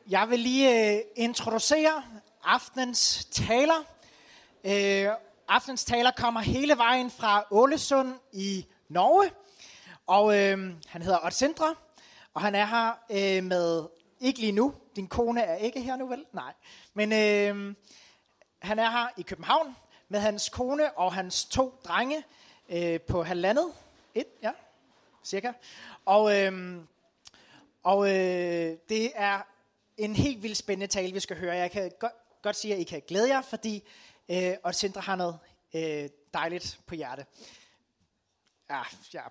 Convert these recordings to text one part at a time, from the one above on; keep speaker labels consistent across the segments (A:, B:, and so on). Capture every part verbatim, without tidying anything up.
A: Jeg vil lige øh, introducere aftenens taler. Øh, aftenens taler kommer hele vejen fra Ålesund i Norge, og øh, han hedder Odd Sindre, og han er her øh, med, ikke lige nu, din kone er ikke her nu vel? Nej, men øh, han er her i København med hans kone og hans to drenge øh, på halvandet, et, ja, cirka, og, øh, og øh, det er en helt vildt spændende tale, vi skal høre. Jeg kan godt, godt sige, at I kan glæde jer, fordi øh, Odd Sindre har noget øh, dejligt på hjerte. Ja, ja.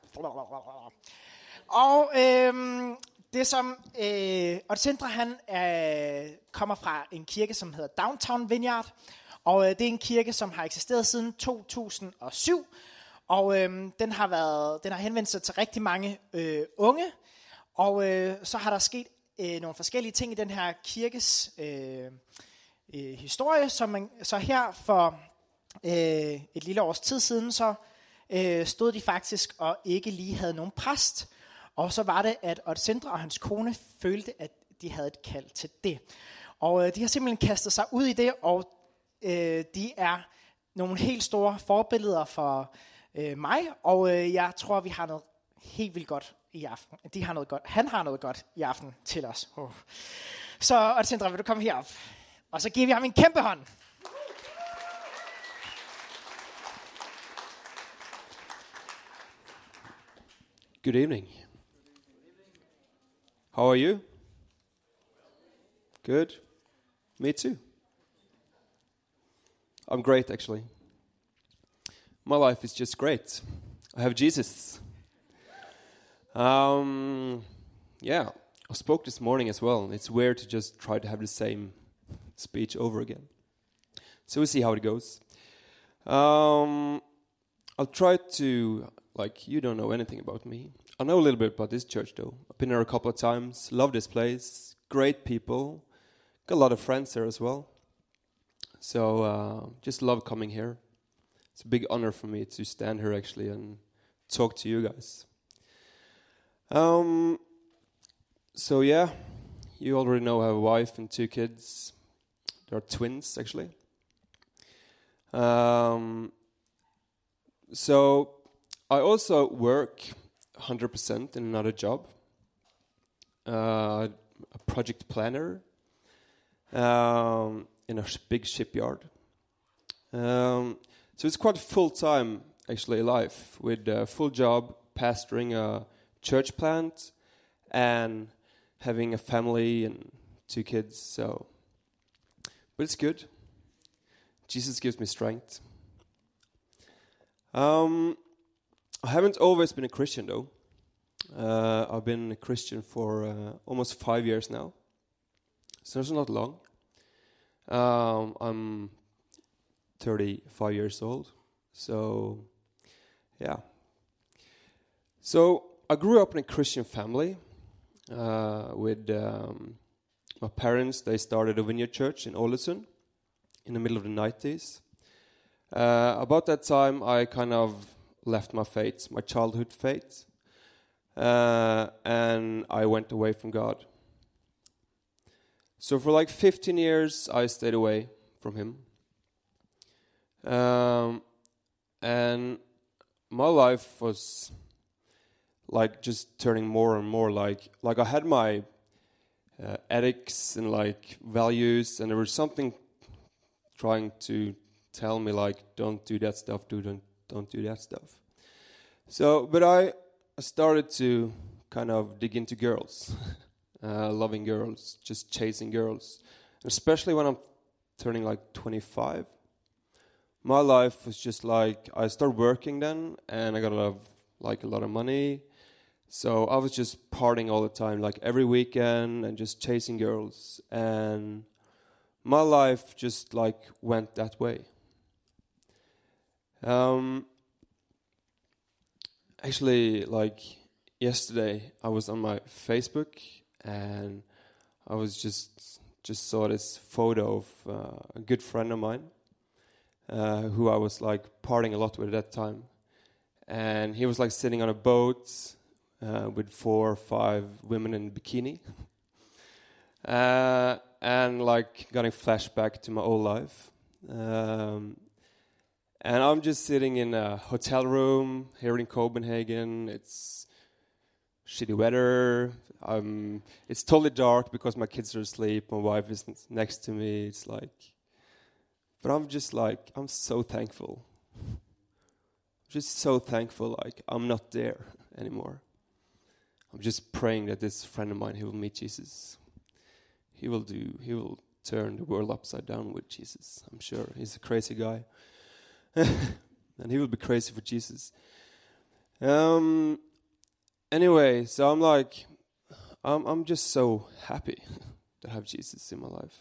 A: Og øh, det som øh, Odd Sindre, han øh, kommer fra en kirke, som hedder Downtown Vineyard, og øh, det er en kirke, som har eksisteret siden to tusind og syv, og øh, den har været, den har henvendt sig til rigtig mange øh, unge, og øh, så har der sket øh, nogle forskellige ting i den her kirkes øh, øh, historie, som man, så her for øh, et lille års tid siden, så øh, stod de faktisk og ikke lige havde nogen præst, og så var det, at Odd Sindre og hans kone følte, at de havde et kald til det. Og øh, de har simpelthen kastet sig ud i det, og øh, de er nogle helt store forbilleder for øh, mig, og øh, jeg tror, vi har noget helt vildt godt i aften. De har noget godt. Han har noget godt i aften til os. Oh. Så Odd Sindre, vil du komme herop? Og så giver vi ham en kæmpe hånd.
B: Good evening. How are you? Good. Me too. I'm great, actually. My life is just great. I have Jesus. Um, yeah, I spoke this morning as well. It's weird to just try to have the same speech over again. So we'll see how it goes. Um, I'll try to, like, you don't know anything about me. I know a little bit about this church, though. I've been there a couple of times. Love this place. Great people. Got a lot of friends there as well. So uh, just love coming here. It's a big honor for me to stand here, actually, and talk to you guys. Um, so yeah, you already know I have a wife and two kids. They're twins, actually. Um, so I also work one hundred percent in another job. Uh, a project planner um, in a sh- big shipyard. Um, so it's quite full-time, actually, life with a full job, pastoring a church plant and having a family and two kids, so but it's good. Jesus gives me strength. Um, I haven't always been a Christian though. Uh, I've been a Christian for uh, almost five years now, so it's not long. Um, I'm thirty-five years old, so yeah. So I grew up in a Christian family uh, with um, my parents. They started a vineyard church in Ålesund in the middle of the nineties. Uh, about that time, I kind of left my faith, my childhood faith, uh, and I went away from God. So for like fifteen years, I stayed away from Him. Um, and my life was like just turning more and more like like I had my uh, ethics and like values, and there was something trying to tell me like, don't do that stuff, do don't don't do that stuff. So, but I started to kind of dig into girls, uh, loving girls, just chasing girls, especially when I'm turning like twenty-five. My life was just like I started working then, and I got a lot of like a lot of money. So I was just partying all the time, like every weekend, and just chasing girls. And my life just like went that way. Um, actually, like yesterday, I was on my Facebook, and I was just just saw this photo of uh, a good friend of mine, uh, who I was like partying a lot with at that time. And he was like sitting on a boat uh, with four or five women in bikini. uh, and like getting flashback to my old life. Um, and I'm just sitting in a hotel room here in Copenhagen. It's shitty weather. Um, it's totally dark because my kids are asleep. My wife is next to me. It's like, but I'm just like, I'm so thankful. Just so thankful, like I'm not there anymore. I'm just praying that this friend of mine, he will meet Jesus. He will do, he will turn the world upside down with Jesus. I'm sure he's a crazy guy. And he will be crazy for Jesus. Um. Anyway, so I'm like, I'm I'm just so happy to have Jesus in my life.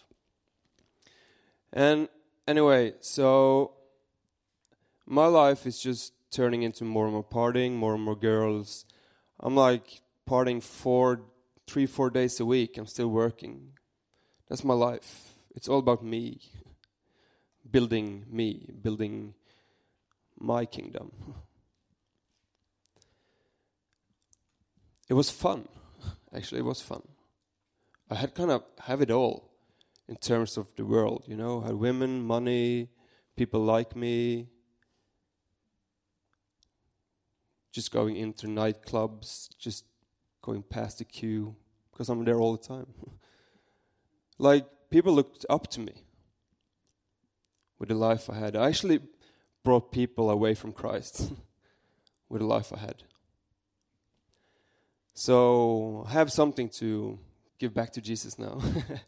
B: And anyway, so my life is just turning into more and more partying, more and more girls. I'm like partying four, three, four days a week. I'm still working. That's my life. It's all about me. Building me, building my kingdom. It was fun. Actually, it was fun. I had kind of have it all in terms of the world, you know. I had women, money, people like me. Just going into nightclubs, just going past the queue, because I'm there all the time. Like, people looked up to me with the life I had. I actually brought people away from Christ with the life I had. So I have something to give back to Jesus now.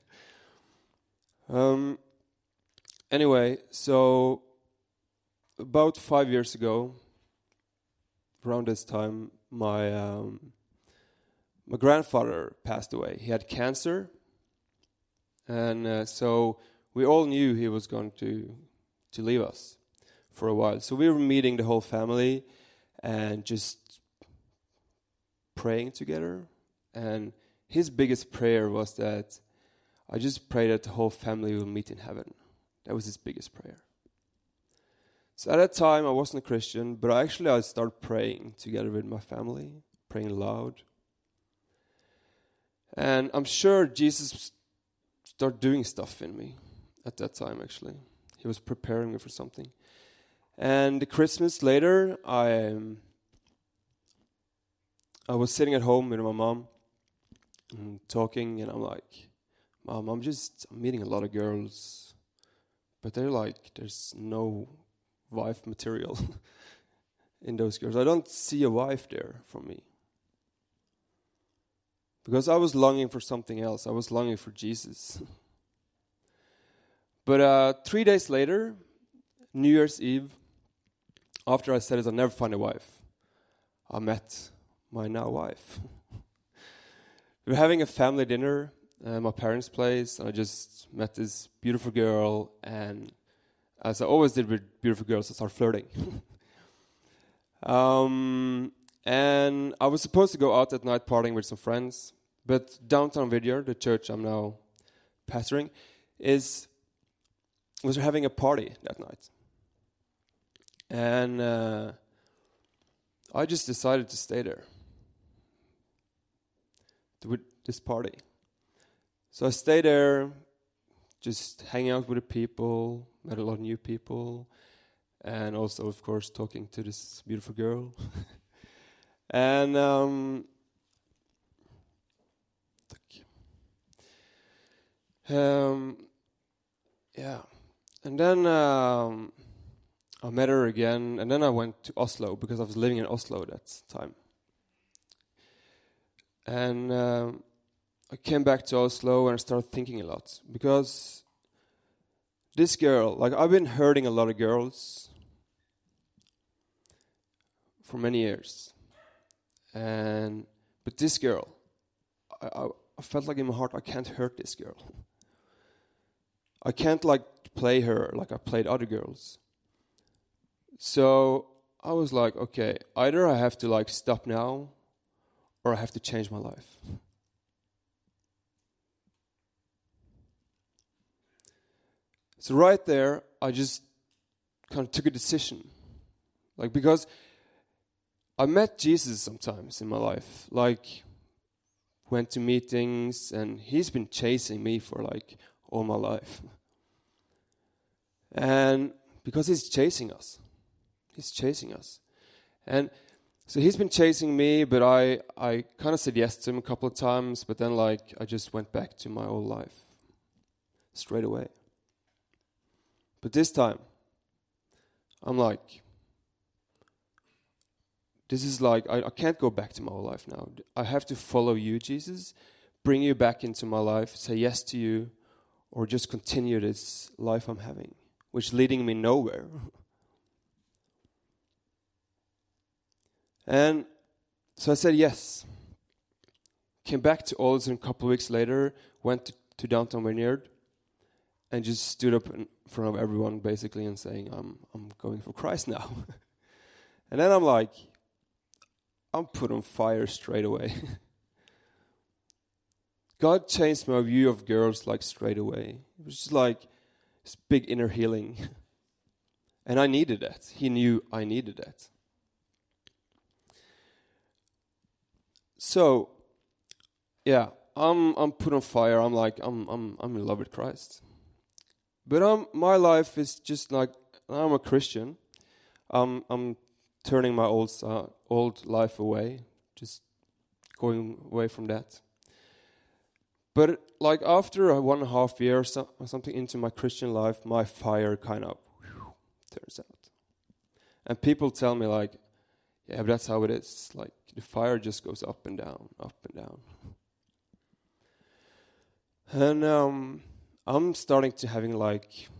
B: um, anyway, so about five years ago, around this time, my um, my grandfather passed away. He had cancer, and uh, so we all knew he was going to to leave us for a while. So we were meeting the whole family and just praying together. And his biggest prayer was that I just pray that the whole family will meet in heaven. That was his biggest prayer. So at that time, I wasn't a Christian, but actually I started praying together with my family, praying loud. And I'm sure Jesus started doing stuff in me at that time, actually. He was preparing me for something. And the Christmas later, I, um, I was sitting at home with my mom and talking, and I'm like, Mom, I'm just I'm meeting a lot of girls, but they're like, there's no wife material in those girls. I don't see a wife there for me. Because I was longing for something else. I was longing for Jesus. But uh, three days later, New Year's Eve, after I said it, I'll never find a wife, I met my now wife. We were having a family dinner at my parents' place, and I just met this beautiful girl, and as I always did with beautiful girls, I started flirting. um, and I was supposed to go out at night partying with some friends, but downtown Vidjar, the church I'm now pastoring, is was having a party that night. And uh, I just decided to stay there with this party. So I stayed there, just hanging out with the people, met a lot of new people, and also, of course, talking to this beautiful girl. and um, um, yeah, and then um, I met her again, and then I went to Oslo because I was living in Oslo at that time. And um, I came back to Oslo and I started thinking a lot because this girl, like I've been hurting a lot of girls for many years, and but this girl, I, I, I felt like in my heart I can't hurt this girl. I can't like play her like I played other girls. So I was like, okay, either I have to like stop now, or I have to change my life. So right there, I just kind of took a decision. Like, because I met Jesus sometimes in my life. Like, went to meetings, and he's been chasing me for like all my life. And because he's chasing us. He's chasing us. And so he's been chasing me, but I, I kind of said yes to him a couple of times, but then like I just went back to my old life straight away. But this time, I'm like, this is like, I, I can't go back to my old life now. I have to follow you, Jesus, bring you back into my life, say yes to you, or just continue this life I'm having, which is leading me nowhere. And so I said yes. Came back to Ålesund a couple of weeks later, went to, to downtown Vineyard, and just stood up in front of everyone basically and saying, I'm I'm going for Christ now. And then I'm like, I'm put on fire straight away. God changed my view of girls like straight away. It was just like this big inner healing. And I needed that. He knew I needed that. So, yeah, I'm I'm put on fire. I'm like I'm I'm I'm in love with Christ. But um, my life is just like I'm a Christian. Um, I'm turning my old uh, old life away, just going away from that. But like after a one and a half year so, or something into my Christian life, my fire kind of whew, turns out. And people tell me like, yeah, but that's how it is. Like the fire just goes up and down, up and down. And um, I'm starting to having like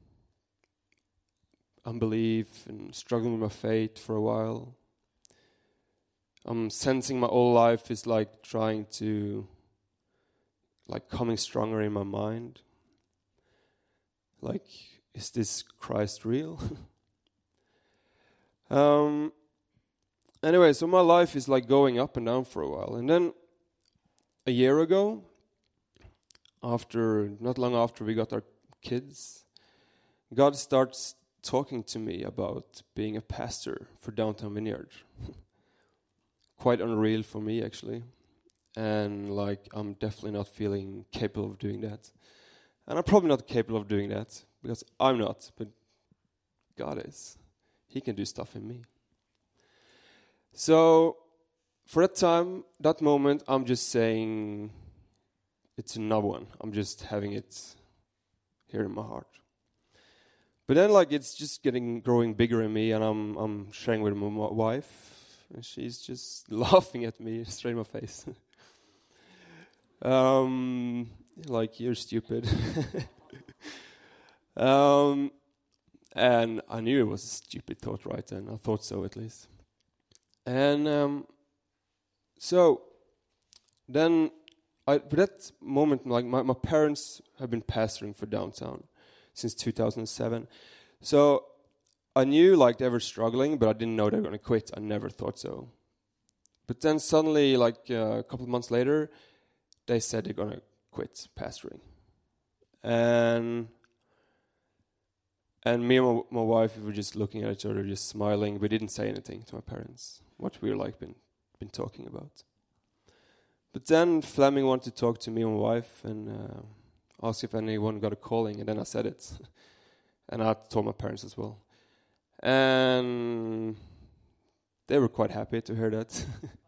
B: unbelief and struggling with my faith for a while. I'm sensing my whole life is like trying to, like coming stronger in my mind. Like, is this Christ real? um. Anyway, so my life is like going up and down for a while. And then a year ago, after not long after we got our kids, God starts talking to me about being a pastor for Downtown Vineyard. Quite unreal for me, actually. And like, I'm definitely not feeling capable of doing that. And I'm probably not capable of doing that, because I'm not, but God is. He can do stuff in me. So, for that time, that moment, I'm just saying, it's another one. I'm just having it here in my heart. But then, like, it's just getting, growing bigger in me, and I'm I'm sharing with my wife, and she's just laughing at me straight in my face. um, like, you're stupid. um, and I knew it was a stupid thought right then. I thought so, at least. And um, so then, I, at that moment, like my, my parents have been pastoring for Downtown since two thousand seven. So I knew like they were struggling, but I didn't know they were going to quit. I never thought so. But then suddenly, like uh, a couple of months later, they said they're going to quit pastoring. And and me and my, my wife, we were just looking at each other, just smiling. We didn't say anything to my parents, what we were like been been talking about. But then Fleming wanted to talk to me and my wife and uh, ask if anyone got a calling, and then I said it. And I told my parents as well. And they were quite happy to hear that.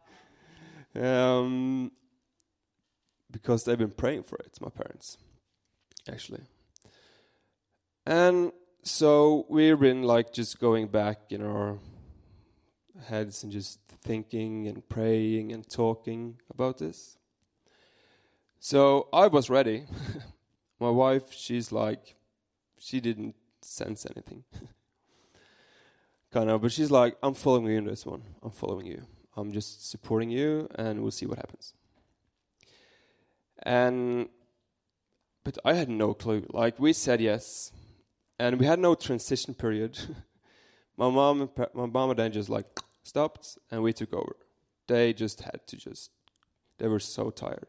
B: um, because they've been praying for it, my parents, actually. And so we've been like just going back in our heads and just thinking and praying and talking about this. So I was ready. My wife, she's like, she didn't sense anything. kind of, but she's like, I'm following you in this one. I'm following you. I'm just supporting you, and we'll see what happens. And, but I had no clue. Like, we said yes, and we had no transition period. my mom and pa- my mom and dad just like stopped, and we took over. They just had to just, they were so tired.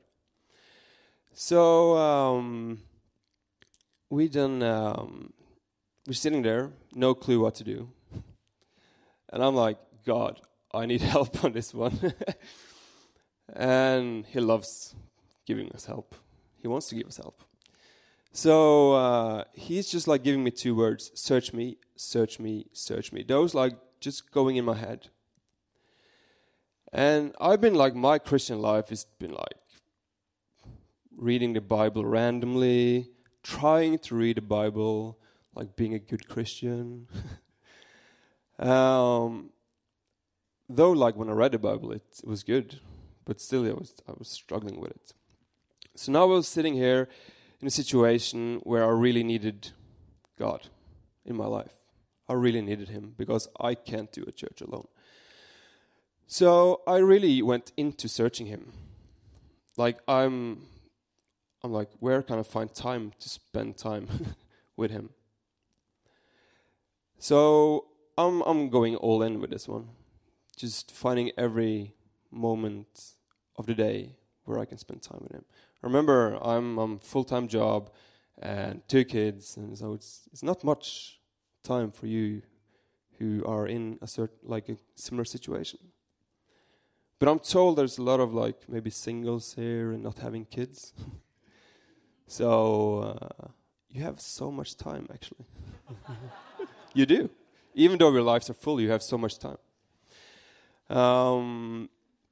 B: So um, we then, um, we're sitting there, no clue what to do. And I'm like, God, I need help on this one. And he loves giving us help. He wants to give us help. So uh, he's just like giving me two words: search me, search me, search me. Those like just going in my head. And I've been like, my Christian life has been like reading the Bible randomly, trying to read the Bible, like being a good Christian. um, though like when I read the Bible, it, it was good, but still I was, I was struggling with it. So now I was sitting here in a situation where I really needed God in my life. I really needed him because I can't do a church alone. So I really went into searching him. Like I'm, I'm like, where can I find time to spend time with him? So I'm I'm going all in with this one, just finding every moment of the day where I can spend time with him. Remember, I'm I'm full-time job and two kids, and so it's it's not much time for you who are in a certain like a similar situation. But I'm told there's a lot of like maybe singles here and not having kids. So uh, you have so much time, actually. You do. Even though your lives are full, you have so much time. Um,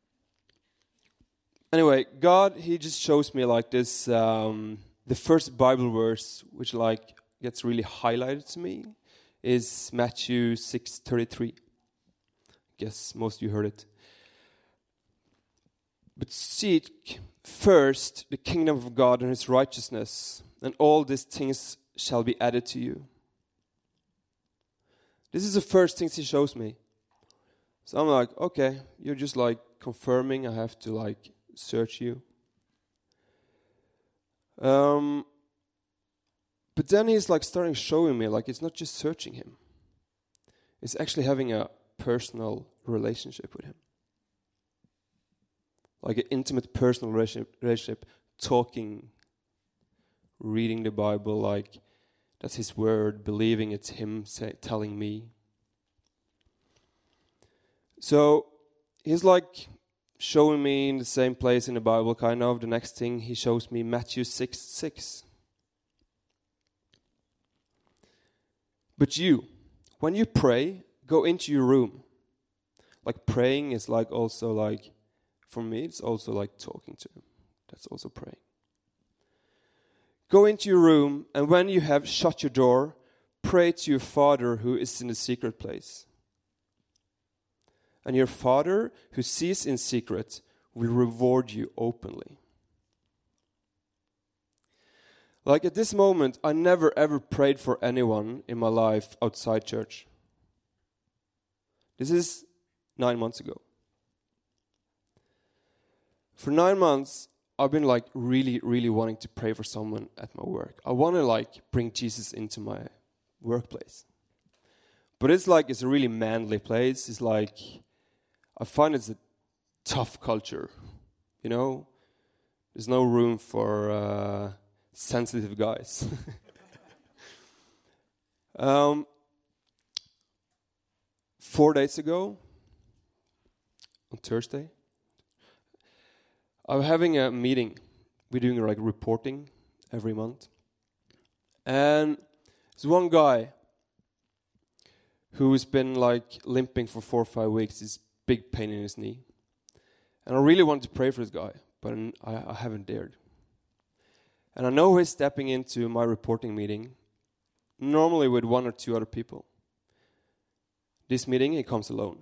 B: anyway, God, he just shows me like this, um, the first Bible verse which like gets really highlighted to me is Matthew six thirty-three. Guess most of you heard it. But seek first the kingdom of God and his righteousness, and all these things shall be added to you. This is the first things he shows me. So I'm like, okay, you're just like confirming I have to like search you. Um, but then he's like starting showing me like it's not just searching him. It's actually having a personal relationship with him. Like an intimate personal relationship, relationship, talking, reading the Bible, like that's his word, believing it's him say, telling me. So he's like showing me in the same place in the Bible, kind of. The next thing he shows me, Matthew six six. But you, when you pray, go into your room. Like praying is like also like, for me, it's also like talking to him. That's also praying. Go into your room, and when you have shut your door, pray to your Father who is in the secret place. And your Father who sees in secret will reward you openly. Like at this moment, I never ever prayed for anyone in my life outside church. This is nine months ago. For nine months, I've been like really, really wanting to pray for someone at my work. I want to like bring Jesus into my workplace. But it's like, it's a really manly place. It's like, I find it's a tough culture, you know? There's no room for uh, sensitive guys. um, four days ago, on Thursday, I'm having a meeting. We're doing like reporting every month. And there's one guy who's been like limping for four or five weeks. This big pain in his knee. And I really wanted to pray for this guy, but I, I haven't dared. And I know he's stepping into my reporting meeting, normally with one or two other people. This meeting, he comes alone.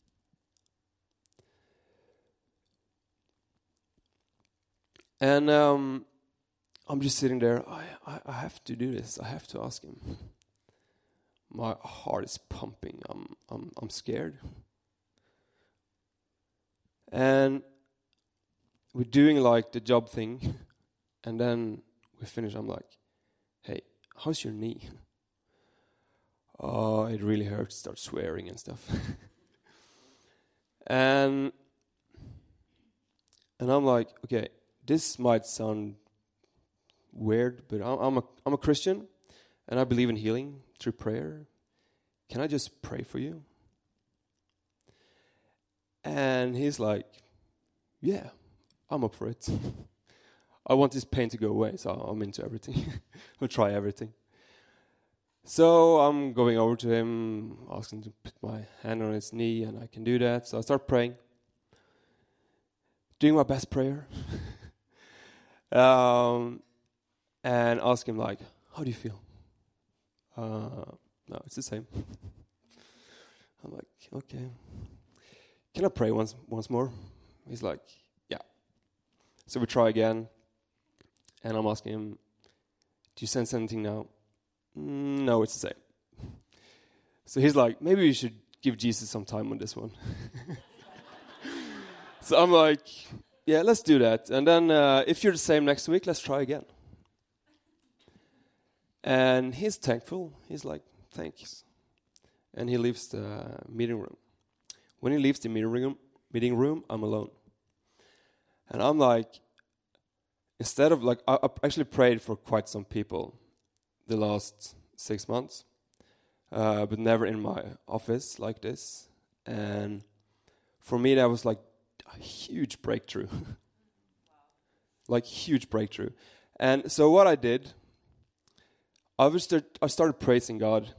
B: And um, I'm just sitting there. I, I, I have to do this. I have to ask him. My heart is pumping. I'm I'm I'm scared. And we're doing like the job thing, and then we finish. I'm like, "Hey, how's your knee?" Oh, it really hurts. Start swearing and stuff. and and I'm like, okay. This might sound weird, but I'm a, I'm a Christian, and I believe in healing through prayer. Can I just pray for you? And he's like, yeah, I'm up for it. I want this pain to go away, so I'm into everything. I'll try everything. So I'm going over to him, asking to put my hand on his knee, and I can do that. So I start praying, doing my best prayer, um, and ask him like, "How do you feel?" Uh, no, it's the same. I'm like, okay. Can I pray once once more? He's like, yeah. So we try again, and I'm asking him, do you sense anything now? Mm, no, it's the same. So he's like, maybe we should give Jesus some time on this one. So I'm like, yeah, let's do that. And then uh, if you're the same next week, let's try again. And he's thankful. He's like, thanks. And he leaves the meeting room. When he leaves the meeting room, meeting room, I'm alone. And I'm like, instead of like, I, I actually prayed for quite some people the last six months, uh, but never in my office like this. And for me, that was like a huge breakthrough. Like huge breakthrough. And so what I did, I was start, I started praising God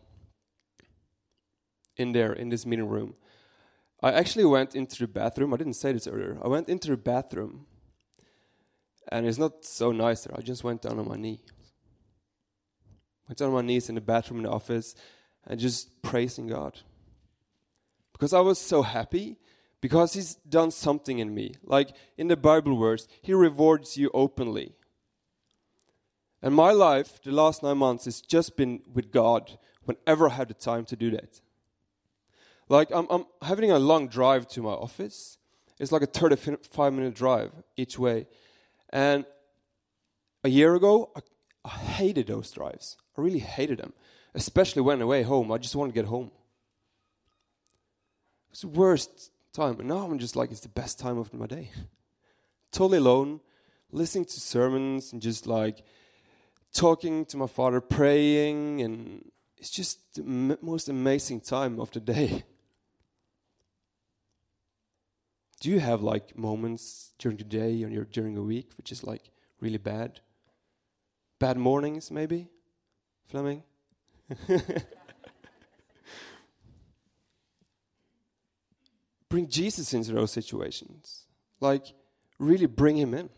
B: in there, in this meeting room. I actually went into the bathroom. I didn't say this earlier. I went into the bathroom, and it's not so nice there. I just went down on my knee. Went down on my knees in the bathroom in the office and just praising God. Because I was so happy, because he's done something in me. Like in the Bible verse, he rewards you openly. And my life, the last nine months, has just been with God whenever I had the time to do that. Like, I'm, I'm having a long drive to my office. It's like a thirty-five minute drive each way. And a year ago, I, I hated those drives. I really hated them. Especially when I way home. I just wanted to get home. It's the worst time. And now I'm just like, it's the best time of my day. Totally alone, listening to sermons and just like talking to my Father, praying. And it's just the m- most amazing time of the day. Do you have like moments during the day or during a week which is like really bad? Bad mornings maybe? Fleming? Bring Jesus into those situations. Like really bring him in.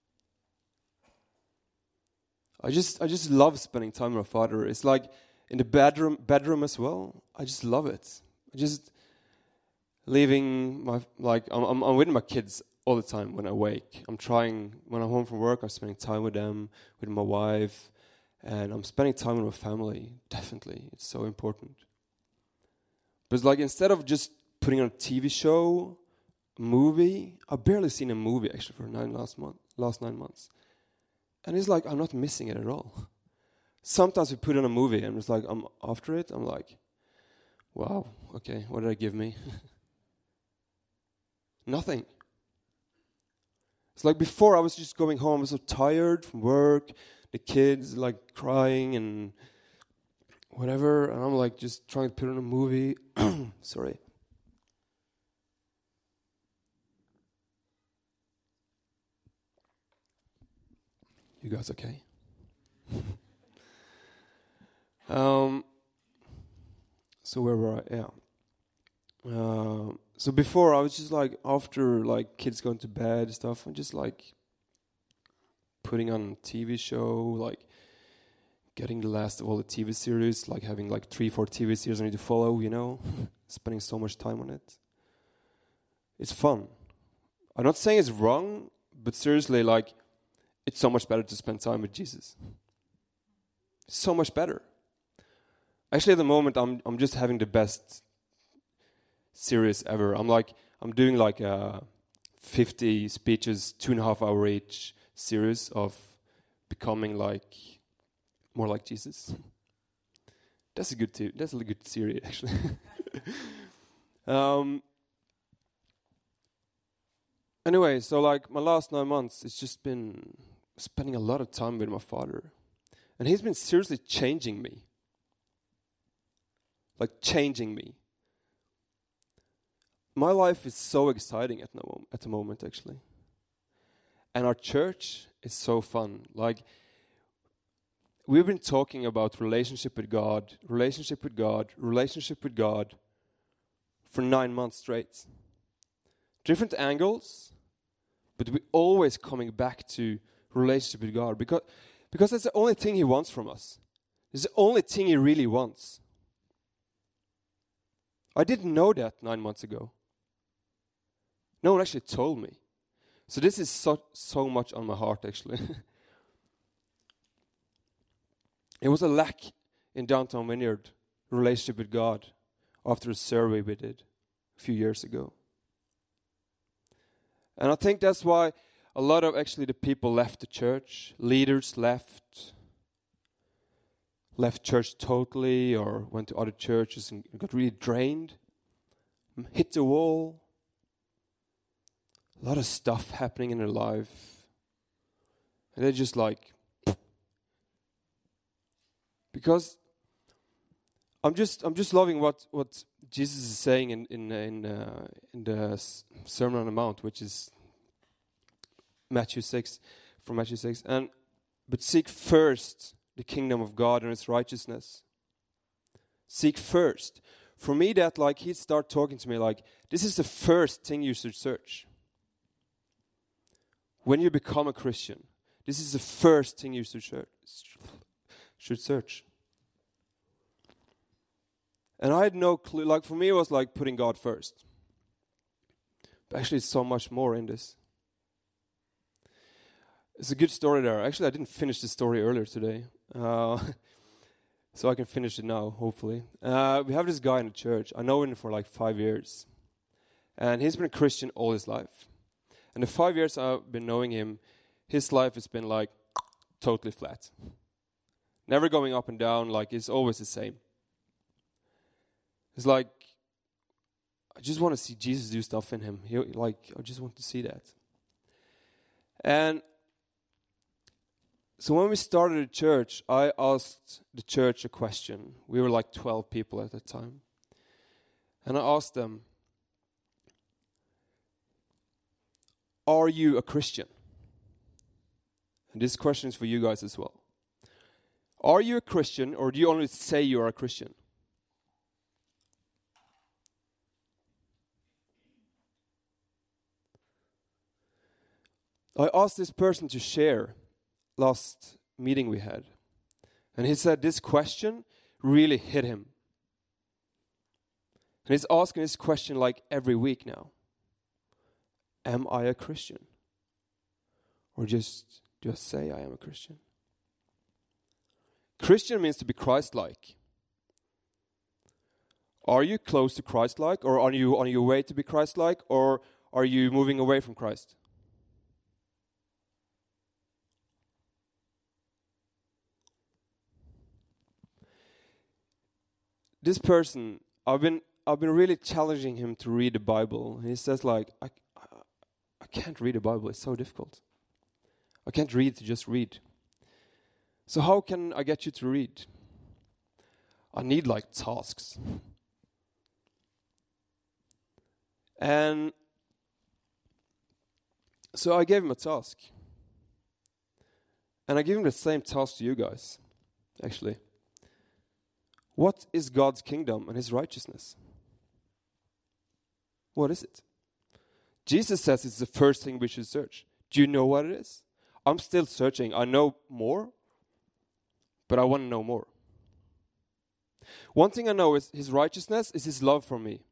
B: I just I just love spending time with my Father. It's like in the bedroom bedroom as well. I just love it. I just leaving my, like, I'm, I'm, I'm with my kids all the time when I wake. I'm trying, when I'm home from work, I'm spending time with them, with my wife, and I'm spending time with my family, definitely. It's so important. But it's like, instead of just putting on a T V show, a movie, I've barely seen a movie, actually, for nine last month, last nine months. And it's like, I'm not missing it at all. Sometimes we put on a movie, and it's like, I'm after it, I'm like, wow, okay, what did I give me? Nothing. It's like before I was just going home, I was so tired from work, the kids like crying and whatever, and I'm like just trying to put on a movie. Sorry. You guys okay? um. So where were I? Yeah. Um. So before I was just like, after like kids going to bed and stuff, I'm just like putting on a T V show, like getting the last of all the T V series, like having like three, four T V series I need to follow, you know, spending so much time on it. It's fun. I'm not saying it's wrong, but seriously, like, it's so much better to spend time with Jesus. So much better. Actually, at the moment, I'm I'm just having the best series ever. I'm like, I'm doing like a fifty speeches, two and a half hour each series of becoming like, more like Jesus. That's a good, te- that's a good series, actually. um. Anyway, so like my last nine months, it's just been spending a lot of time with my Father. And he's been seriously changing me. Like changing me. My life is so exciting at the, mom- at the moment, actually. And our church is so fun. Like, we've been talking about relationship with God, relationship with God, relationship with God for nine months straight. Different angles, but we're always coming back to relationship with God because, because that's the only thing He wants from us. It's the only thing He really wants. I didn't know that nine months ago. No one actually told me. So this is so, so much on my heart, actually. It was a lack in Downtown Vineyard, relationship with God, after a survey we did a few years ago. And I think that's why a lot of actually the people left the church, leaders left, left church totally or went to other churches and got really drained, hit the wall. A lot of stuff happening in their life. And they're just like, because I'm just I'm just loving what, what Jesus is saying in in in, uh, in the Sermon on the Mount, which is Matthew six, from Matthew six. And but seek first the kingdom of God and its righteousness. Seek first. For me, that like he'd start talking to me like, this is the first thing you should search. When you become a Christian, this is the first thing you should search. Should search. And I had no clue. Like for me, it was like putting God first. But actually, it's so much more in this. It's a good story there. Actually, I didn't finish the story earlier today. Uh, so I can finish it now, hopefully. Uh, we have this guy in the church. I know him for like five years. And he's been a Christian all his life. And the five years I've been knowing him, his life has been like totally flat. Never going up and down, like it's always the same. It's like, I just want to see Jesus do stuff in him. He, like, I just want to see that. And so when we started the church, I asked the church a question. We were like twelve people at the time. And I asked them, are you a Christian? And this question is for you guys as well. Are you a Christian, or do you only say you are a Christian? I asked this person to share last meeting we had. And he said this question really hit him. And he's asking this question like every week now. Am I a Christian? Or just do I say I am a Christian? Christian means to be Christ-like. Are you close to Christ-like, or are you on your way to be Christ-like, or are you moving away from Christ? This person, I've been I've been really challenging him to read the Bible. He says like, I, I, I can't read the Bible, it's so difficult. I can't read to just read. So how can I get you to read? I need like tasks. And so I gave him a task. And I gave him the same task to you guys, actually. What is God's kingdom and his righteousness? What is it? Jesus says it's the first thing we should search. Do you know what it is? I'm still searching. I know more, but I want to know more. One thing I know is his righteousness is his love for me.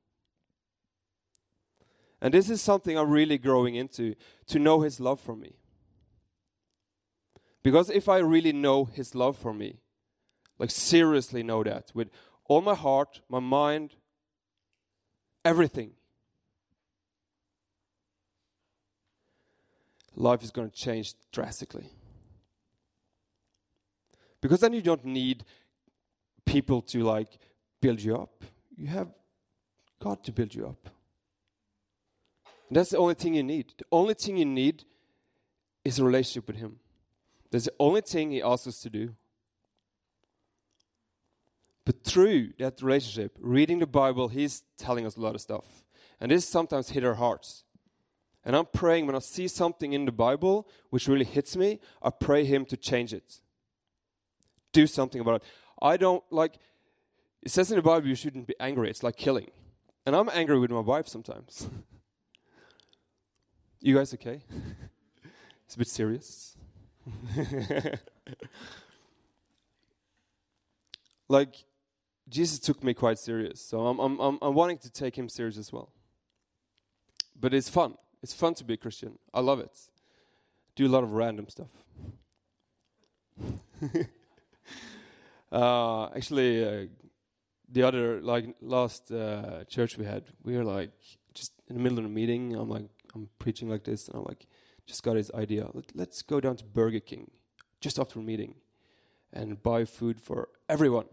B: And this is something I'm really growing into, to know his love for me. Because if I really know his love for me, like seriously know that, with all my heart, my mind, everything, life is going to change drastically. Because then you don't need people to like build you up. You have God to build you up. And that's the only thing you need. The only thing you need is a relationship with him. That's the only thing he asks us to do. But through that relationship, reading the Bible, he's telling us a lot of stuff. And this sometimes hit our hearts. And I'm praying when I see something in the Bible which really hits me, I pray him to change it. Do something about it. I don't like, it says in the Bible you shouldn't be angry. It's like killing. And I'm angry with my wife sometimes. You guys okay? It's a bit serious. Like, Jesus took me quite serious, so I'm, I'm, I'm, I'm wanting to take him serious as well. But it's fun. It's fun to be a Christian. I love it. Do a lot of random stuff. uh, actually, uh, the other, like, last uh, church we had, we were like, just in the middle of a meeting, I'm like, I'm preaching like this, and I'm like, just got this idea. Let, let's go down to Burger King just after a meeting and buy food for everyone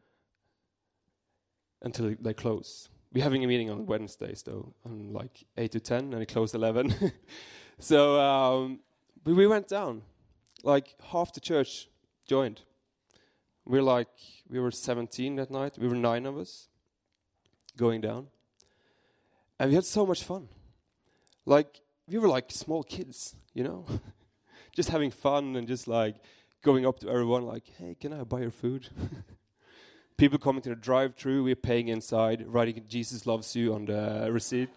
B: until they close. We're having a meeting on Wednesdays, though, on like eight to ten, and it closed eleven. So, um, but we went down. Like, half the church joined. We're like, we were seventeen that night. We were nine of us going down. And we had so much fun. Like, we were like small kids, you know? Just having fun and just like going up to everyone like, hey, can I buy your food? People coming to the drive-thru, we're paying inside, writing Jesus loves you on the receipt.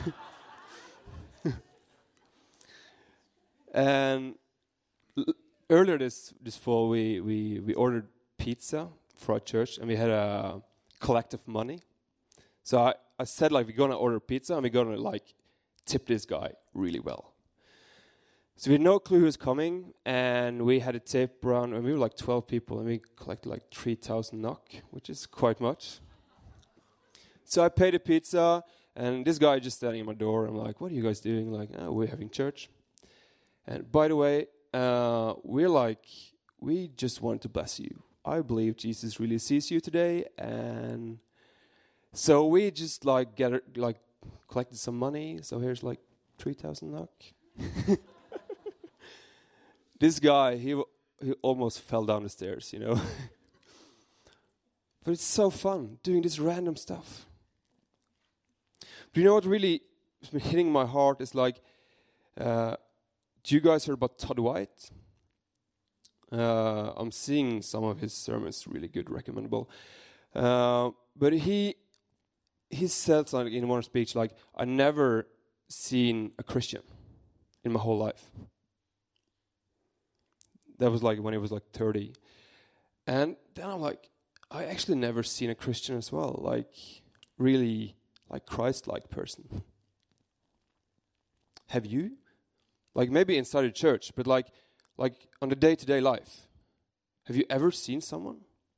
B: And l- earlier this this fall, we, we, we ordered pizza for our church, and we had a collective money. So I, I said, like, we're going to order pizza, and we're going to, like, tip this guy really well. So we had no clue who was coming, and we had a tip around, and we were like twelve people, and we collected like three thousand NOK, which is quite much. So I paid the pizza, and this guy just standing at my door. I'm like, what are you guys doing? Like, oh, we're having church. And by the way, uh, we're like, we just want to bless you. I believe Jesus really sees you today, and so we just like get like collected some money. So here's like three thousand NOK. This guy, he w- he almost fell down the stairs, you know. But it's so fun doing this random stuff. But you know what really has been hitting my heart is like, uh, do you guys hear about Todd White? Uh, I'm seeing some of his sermons, really good, recommendable. Uh, but he he said like in one speech, like, I never seen a Christian in my whole life. That was like when he was like thirty. And then I'm like, I actually never seen a Christian as well, like really like Christ-like person. Have you? Like maybe inside a church, but like like on the day-to-day life. Have you ever seen someone?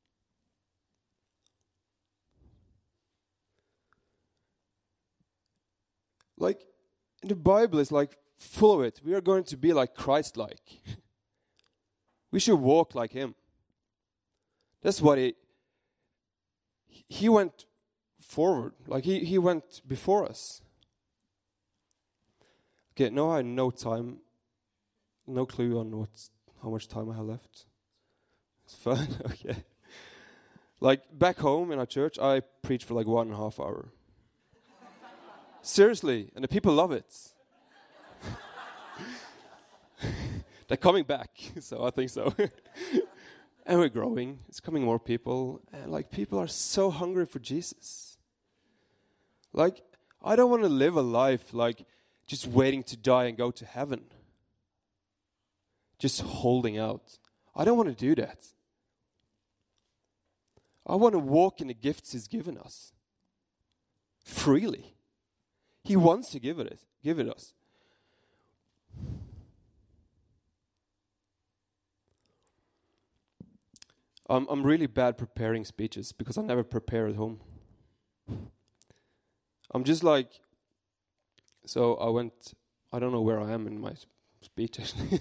B: Like in the Bible is like full of it. We are going to be like Christ-like. We should walk like him. That's what he, he went forward. Like he, he went before us. Okay, now I have no time, no clue on what, how much time I have left. It's fun, okay. Like back home in our church, I preach for like one and a half hour. Seriously, and the people love it. They're coming back, so I think so. And we're growing. It's coming more people. And like people are so hungry for Jesus. Like, I don't want to live a life like just waiting to die and go to heaven. Just holding out. I don't want to do that. I want to walk in the gifts he's given us. Freely. He wants to give it, give it us. Um, I'm really bad preparing speeches because I never prepare at home. I'm just like, so I went, I don't know where I am in my speech actually.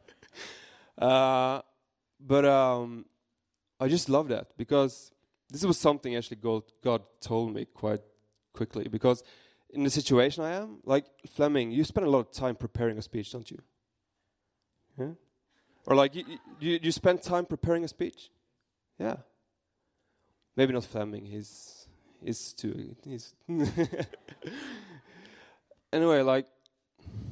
B: uh, but um, I just love that because this was something actually God, God told me quite quickly. Because in the situation I am, like Fleming, you spend a lot of time preparing a speech, don't you? Yeah? Or like, you, you, you spend time preparing a speech? Yeah. Maybe not Fleming, he's, he's too, he's... Anyway, like,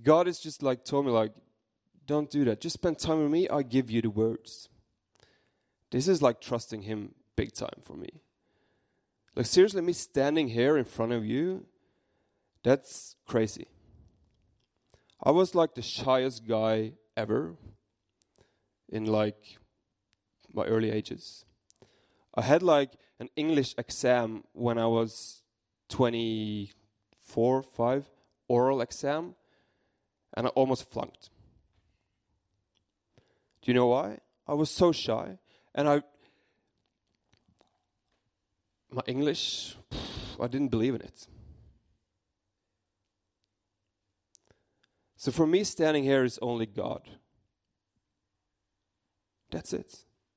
B: God is just like told me like, don't do that. Just spend time with me. I give you the words. This is like trusting him big time for me. Like seriously, me standing here in front of you, that's crazy. I was like the shyest guy ever in like my early ages. I had like an English exam when I was twenty-four, five, oral exam, and I almost flunked. Do you know why? I was so shy, and I, my English, I didn't believe in it. So for me, standing here is only God. That's it.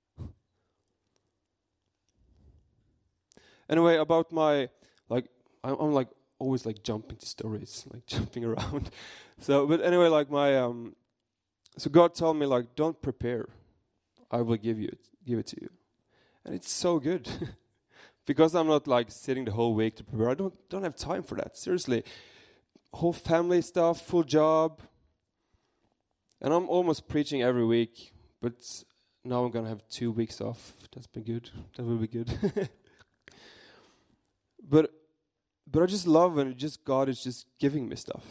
B: Anyway, about my, like, I'm, I'm like always like jumping to stories, like jumping around. So, but anyway, like my, um, so God told me like, don't prepare. I will give you it, give it to you. And it's so good. Because I'm not like sitting the whole week to prepare. I don't, don't have time for that. Seriously. Whole family stuff, full job. And I'm almost preaching every week. But now I'm going to have two weeks off. That's been good. That will be good. But but I just love when just God is just giving me stuff.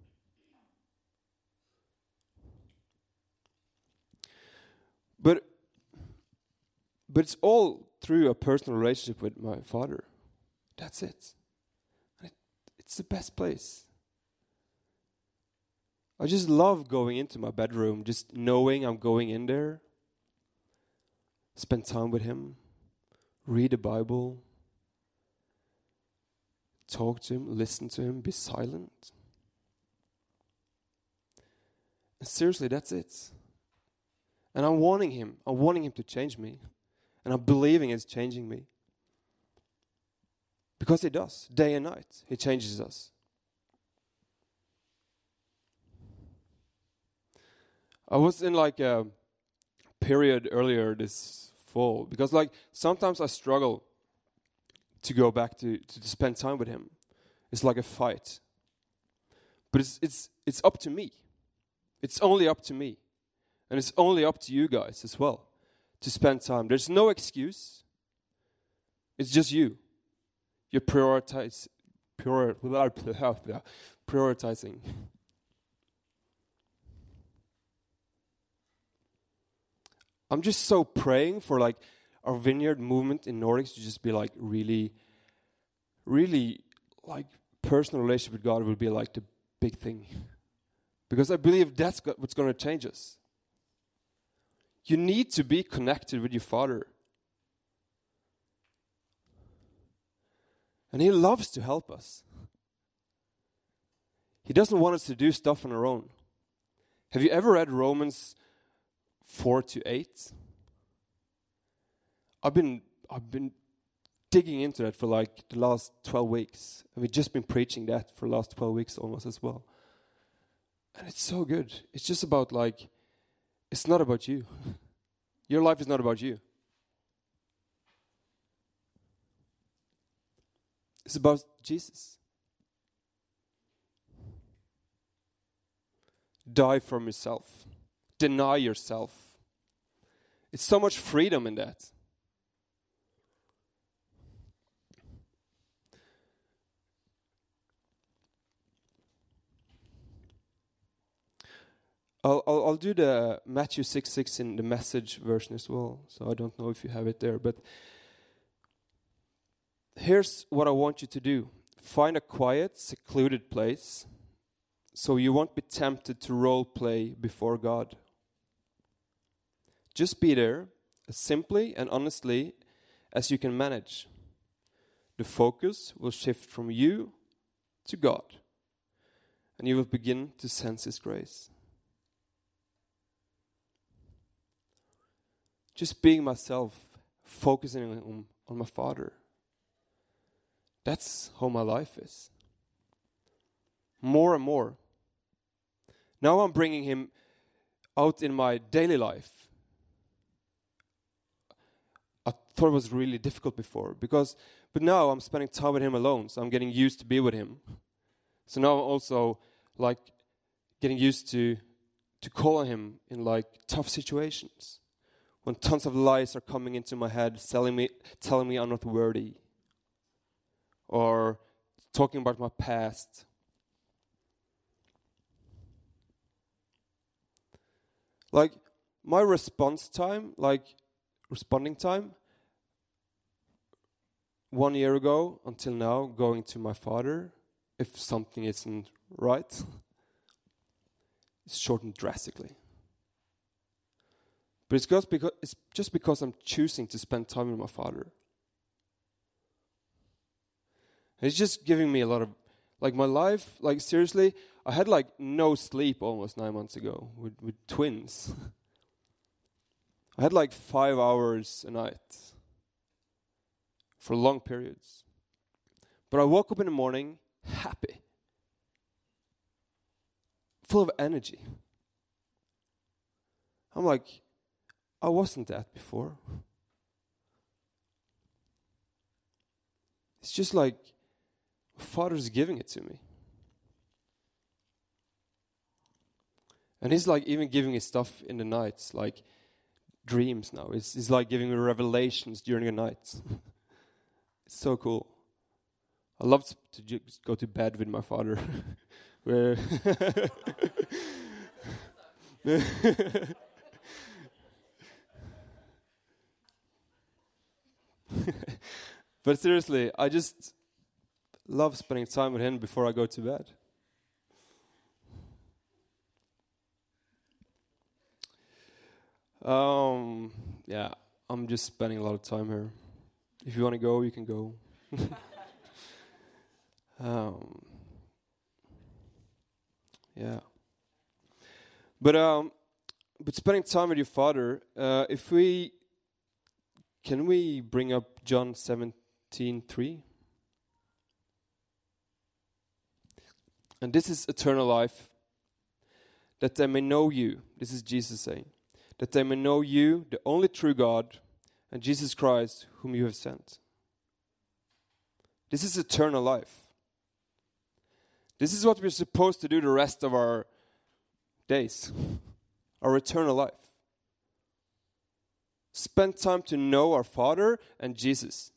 B: But but it's all through a personal relationship with my Father. That's it. And it it's the best place. I just love going into my bedroom, just knowing I'm going in there, spend time with him, read the Bible, talk to him, listen to him, be silent. And seriously, that's it. And I'm wanting him. I'm wanting him to change me. And I'm believing it's changing me. Because he does, day and night. He changes us. I was in like a period earlier this fall. Because like sometimes I struggle to go back to, to, to spend time with him. It's like a fight. But it's it's it's up to me. It's only up to me. And it's only up to you guys as well to spend time. There's no excuse. It's just you. You're prioritize, prior, prioritizing. I'm just so praying for like our vineyard movement in Nordics to just be like really, really like personal relationship with God will be like the big thing. Because I believe that's what's going to change us. You need to be connected with your Father. And he loves to help us. He doesn't want us to do stuff on our own. Have you ever read Romans four to eight? I've been I've been digging into that for like the last twelve weeks. And we've just been preaching that for the last twelve weeks almost as well. And it's so good. It's just about like, it's not about you. Your life is not about you. It's about Jesus. Die from yourself. Deny yourself. It's so much freedom in that. I'll, I'll I'll do the Matthew six six in the Message version as well. So I don't know if you have it there, but here's what I want you to do. Find a quiet, secluded place so you won't be tempted to role play before God. Just be there as simply and honestly as you can manage. The focus will shift from you to God, and you will begin to sense His grace. Just being myself, focusing on, on my Father. That's how my life is. More and more. Now I'm bringing Him out in my daily life. I thought it was really difficult before, because, but now I'm spending time with Him alone, so I'm getting used to be with Him. So now I'm also like getting used to to call on him in like tough situations. When tons of lies are coming into my head, telling me telling me I'm not worthy. Or talking about my past. Like my response time, like responding time, one year ago until now, going to my father, if something isn't right, it's shortened drastically. But it's just because it's just because I'm choosing to spend time with my father. It's just giving me a lot of, like my life, like seriously, I had like no sleep almost nine months ago with, with twins. I had like five hours a night for long periods. But I woke up in the morning happy, full of energy. I'm like, I wasn't that before. It's just like, Father's giving it to me. And he's like even giving me stuff in the nights, like dreams now. It's, it's like giving me revelations during the night. It's so cool. I love to just go to bed with my father. Where But seriously, I just love spending time with him before I go to bed. Um, yeah, I'm just spending a lot of time here. If you want to go, you can go. um, yeah. But um, but spending time with your father. Uh, if we can we bring up John seventeen three? And this is eternal life, that they may know you. This is Jesus saying, that they may know you, the only true God, and Jesus Christ, whom you have sent. This is eternal life. This is what we're supposed to do the rest of our days, our eternal life. Spend time to know our Father and Jesus.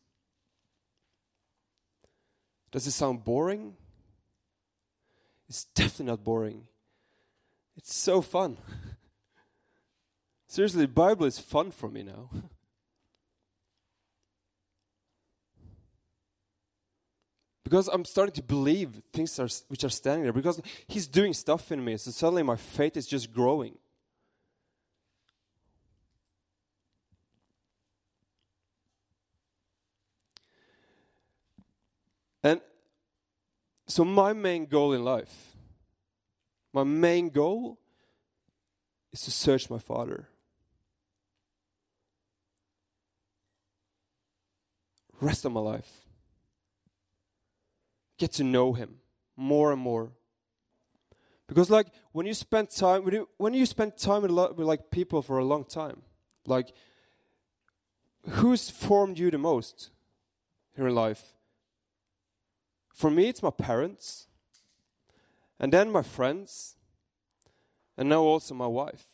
B: Does it sound boring? It's definitely not boring. It's so fun. Seriously, the Bible is fun for me now. Because I'm starting to believe things are, which are standing there. Because he's doing stuff in me. So suddenly my faith is just growing. And so my main goal in life, my main goal is to search my Father. Rest of my life. Get to know him more and more. Because like when you spend time when you, when you spend time with, a lot, with like people for a long time, like who's formed you the most here in life? For me, it's my parents, and then my friends, and now also my wife.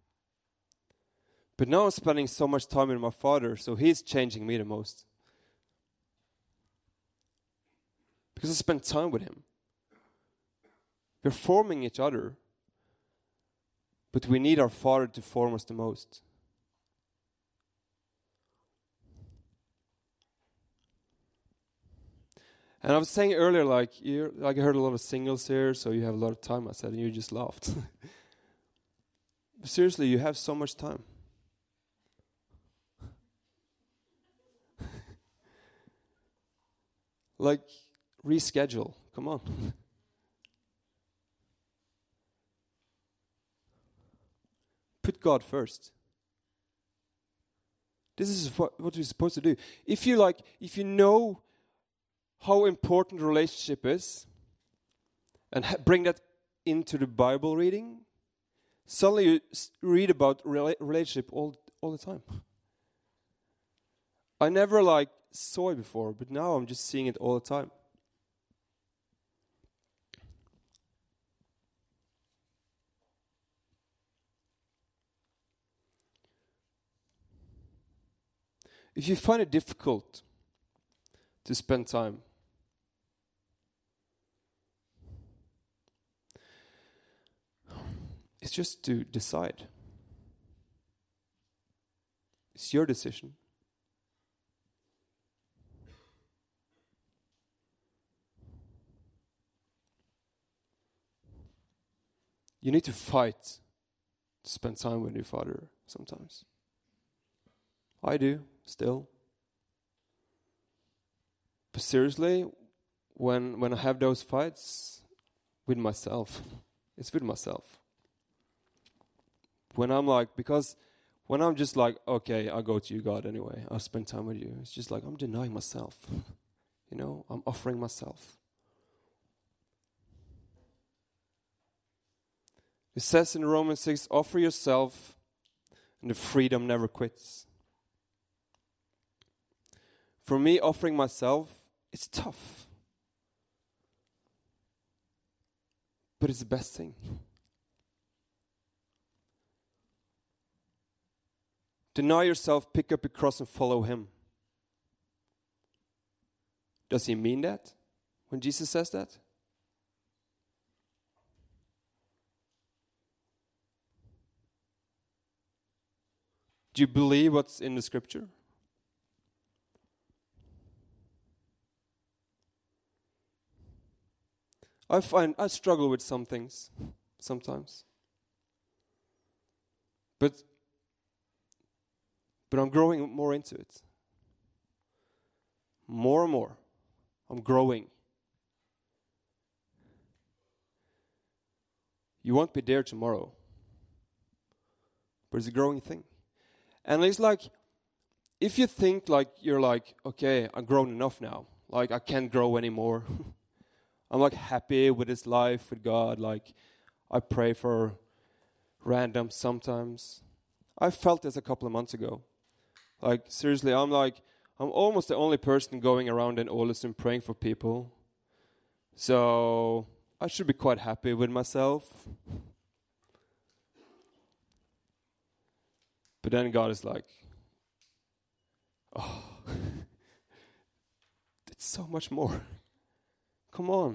B: But now I'm spending so much time with my father, so he's changing me the most. Because I spend time with him. We're forming each other, but we need our Father to form us the most. And I was saying earlier, like, you like I heard a lot of singles here, so you have a lot of time, I said, and you just laughed. But seriously, you have so much time. Like, reschedule. Come on. Put God first. This is what, what we're supposed to do. If you like, if you know how important relationship is, and ha- bring that into the Bible reading, suddenly you s- read about rela- relationship all all the time. I never like saw it before, but now I'm just seeing it all the time. if you find it difficult to spend time, it's just to decide. It's your decision. You need to fight to spend time with your Father sometimes. I do, still. But seriously, when when I have those fights with myself, it's with myself. When I'm like, because when I'm just like, okay, I'll go to you, God, anyway. I'll spend time with you. It's just like, I'm denying myself. You know, I'm offering myself. It says in Romans six, offer yourself and the freedom never quits. For me, offering myself, it's tough. But it's the best thing. Deny yourself, pick up your cross and follow him. Does he mean that when Jesus says that? Do you believe what's in the scripture? I find I struggle with some things sometimes. But but I'm growing more into it. More and more. I'm growing. You won't be there tomorrow. But it's a growing thing. And it's like, if you think like, you're like, okay, I've grown enough now. Like, I can't grow anymore. I'm like happy with this life with God. Like, I pray for random sometimes. I felt this a couple of months ago. Like, seriously, I'm like, I'm almost the only person going around in Ålesund praying for people. So, I should be quite happy with myself. But then God is like, oh, it's so much more. Come on.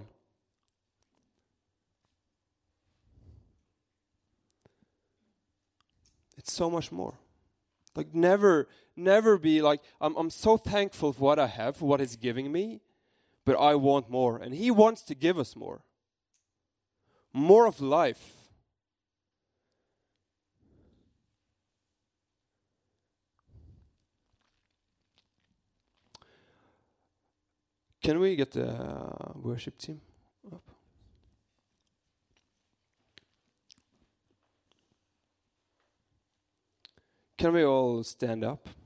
B: It's so much more. Like never, never be like, I'm, I'm so thankful for what I have, for what he's giving me, but I want more. And he wants to give us more. More of life. Can we get the uh, worship team up? Can we all stand up?